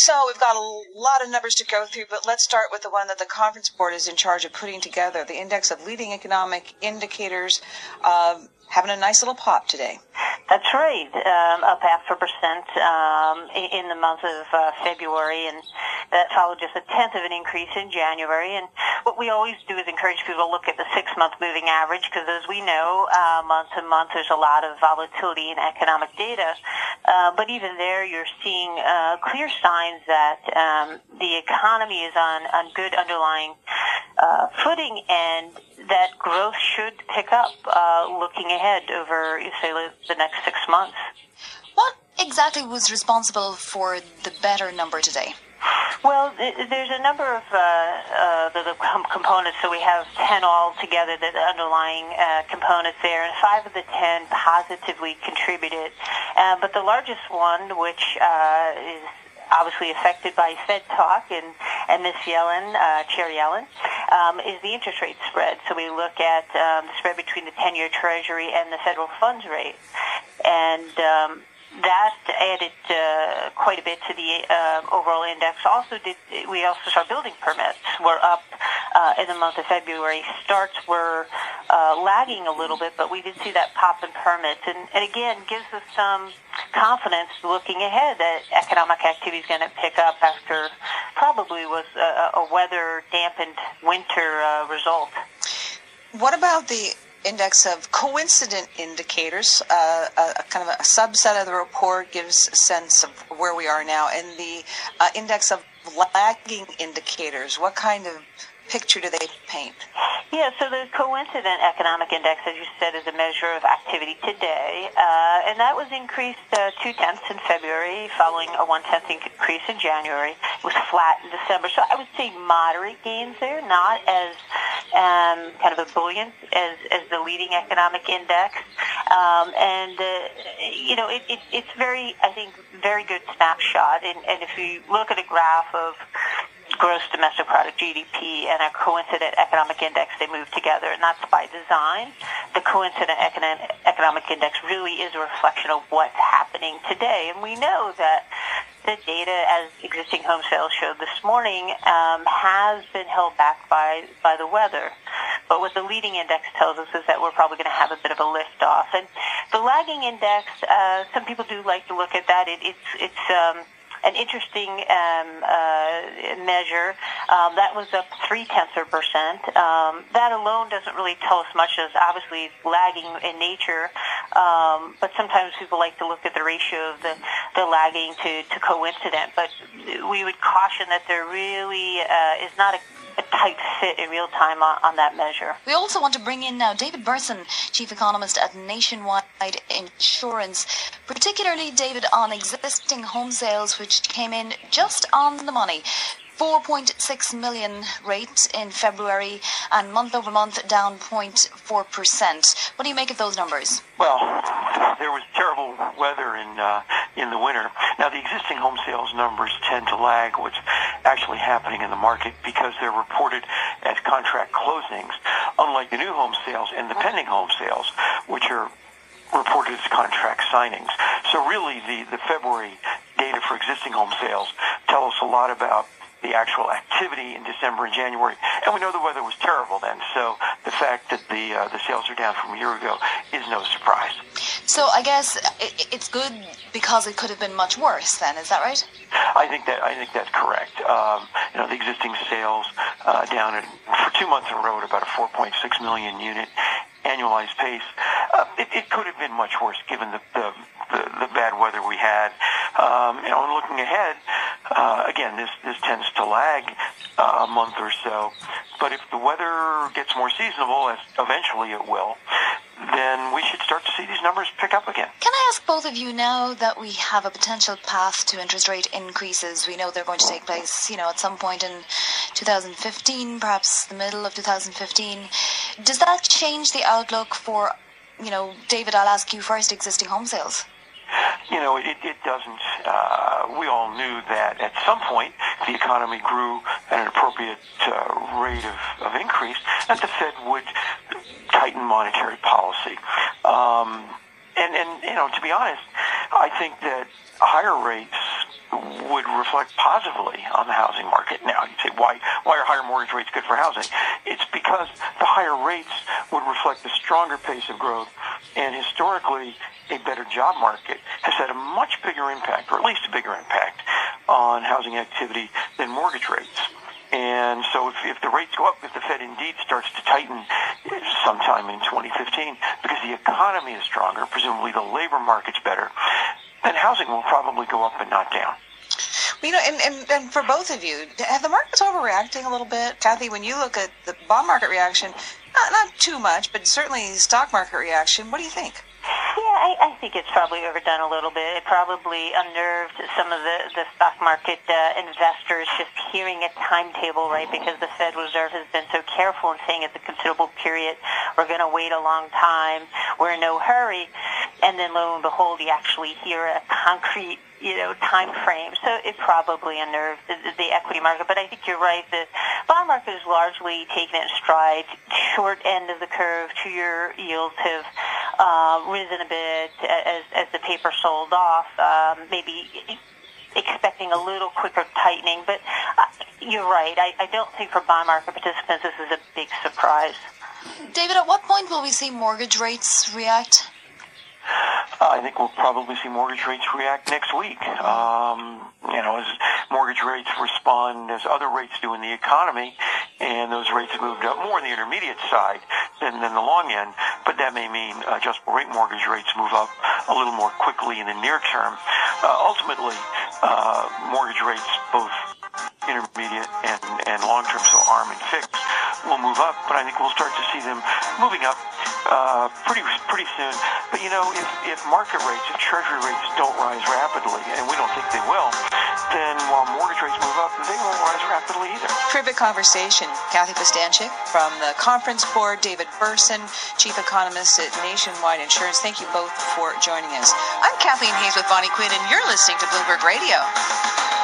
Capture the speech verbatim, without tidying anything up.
So we've got a lot of numbers to go through, but let's start with the one that the Conference Board is in charge of putting together, the Index of Leading Economic Indicators, uh, having a nice little pop today. That's right, um, up half a percent um, in the month of uh, February, and that followed just a tenth of an increase in January. And what we always do is encourage people to look at the six-month moving average, because as we know, uh, month to month there's a lot of volatility in economic data. Uh, but even there, you're seeing uh, clear signs that um, the economy is on, on good underlying uh, footing, and that growth should pick up uh, looking ahead over, say, the next six months. What exactly was responsible for the better number today? Well, there's a number of uh, uh, the, the components. So we have ten altogether, the underlying uh, components there, and five of the ten positively contributed. Uh, but the largest one, which uh, is obviously affected by Fed talk and, and Miz Yellen, uh, Chair Yellen, um, is the interest rate spread. So we look at um, the spread between the ten-year Treasury and the federal funds rate. And um, that added uh, quite a bit to the uh, overall index. Also, did we also saw building permits were up uh, in the month of February. Starts were uh, lagging a little bit, but we did see that pop in permits. And, and again, gives us some confidence looking ahead that economic activity is going to pick up after probably was a, a weather-dampened winter uh, result. What about the index of coincident indicators? Uh, a, a kind of a subset of the report gives a sense of where we are now. And the uh, index of lagging indicators, what kind of picture do they paint? Yeah, so the coincident economic index, as you said, is a measure of activity today, uh, and that was increased uh, two-tenths in February, following a one-tenth increase in January. It was flat in December, so I would say moderate gains there, not as um, kind of ebullient as, as the leading economic index. Um, and, uh, you know, it, it, it's very, I think, very good snapshot, and, and if you look at a graph of gross domestic product, G D P, and a coincident economic index, they move together, and that's by design. The coincident economic index really is a reflection of what's happening today, and we know that the data, as existing home sales showed this morning, um, has been held back by, by the weather. But what the leading index tells us is that we're probably going to have a bit of a lift-off. And the lagging index, uh, some people do like to look at that. It, it's it's um, an interesting um, uh, measure. Um, that was up three-tenths of a percent. Um, that alone doesn't really tell us much, as obviously it's lagging in nature. Um, but sometimes people like to look at the ratio of the, the lagging to, to coincident. But we would caution that there really uh, is not a a tight fit in real time on, on that measure. We also want to bring in now David Burson, Chief Economist at Nationwide Insurance, particularly, David, on existing home sales, which came in just on the money. four point six million rate in February, and month over month down zero point four percent. What do you make of those numbers? Well, there was terrible weather in uh, in the winter. Now, the existing home sales numbers tend to lag what's actually happening in the market because they're reported as contract closings, unlike the new home sales and the pending home sales, which are reported as contract signings. So really, the, the February data for existing home sales tell us a lot about the actual activity in December and January, and we know the weather was terrible then, so the fact that the uh, the sales are down from a year ago is no surprise. So I guess it, it's good because it could have been much worse then, is that right? I think that I think that's correct. Um, you know, the existing sales uh, down at, for two months in a row at about a four point six million unit annualized pace. Uh, it, it could have been much worse given the the, the, the bad weather we had. Um, you know, and looking ahead, uh, again, this this tends to lag uh, a month or so. But if the weather gets more seasonable, as eventually it will, then we should start to see these numbers pick up again. Can I ask both of you, now that we have a potential path to interest rate increases, we know they're going to take place, you know, at some point in two thousand fifteen, perhaps the middle of two thousand fifteen. Does that change the outlook for, you know, David, I'll ask you first, existing home sales? You know, it, it doesn't. Uh, we all knew that at some point the economy grew at an appropriate uh, rate of, of increase, that the Fed would tighten monetary policy. Um, and, and, you know, to be honest, I think that higher rates would reflect positively on the housing market. Now, you say, why, why are higher mortgage rates good for housing? It's because the higher rates would reflect a stronger pace of growth, and historically, a better job market has had a much bigger impact, or at least a bigger impact, on housing activity than mortgage rates. And so if, if the rates go up, if the Fed indeed starts to tighten sometime in twenty fifteen, because the economy is stronger, presumably the labor market's better, then housing will probably go up and not down. You know, and, and, and for both of you, have the markets overreacting a little bit? Kathy, when you look at the bond market reaction, not, not too much, but certainly stock market reaction, what do you think? Yeah, I, I think it's probably overdone a little bit. It probably unnerved some of the, the stock market uh, investors just hearing a timetable, right, because the Fed Reserve has been so careful in saying it's a considerable period. We're going to wait a long time. We're in no hurry. And then lo and behold, you actually hear a concrete, you know, time frame. So it probably unnerved the, the equity market. But I think you're right. The bond market is largely taken in stride. Short end of the curve, two-year yields have uh, risen a bit as, as the paper sold off, um, maybe expecting a little quicker tightening. But uh, you're right. I, I don't think for bond market participants this is a big surprise. David, at what point will we see mortgage rates react? Uh, I think we'll probably see mortgage rates react next week. Um, you know, as mortgage rates respond as other rates do in the economy, and those rates have moved up more on the intermediate side than, than the long end. But that may mean uh, adjustable rate mortgage rates move up a little more quickly in the near term. Uh, ultimately, uh, mortgage rates, both intermediate and, and long-term, so ARM and fixed, will move up, but I think we'll start to see them moving up uh, pretty pretty soon. But, you know, if, if market rates, if treasury rates don't rise rapidly, and we don't think they will, then while mortgage rates move up, they won't rise rapidly either. Terrific conversation. Kathy Bostanchik from the Conference Board, David Burson, Chief Economist at Nationwide Insurance. Thank you both for joining us. I'm Kathleen Hayes with Bonnie Quinn, and you're listening to Bloomberg Radio.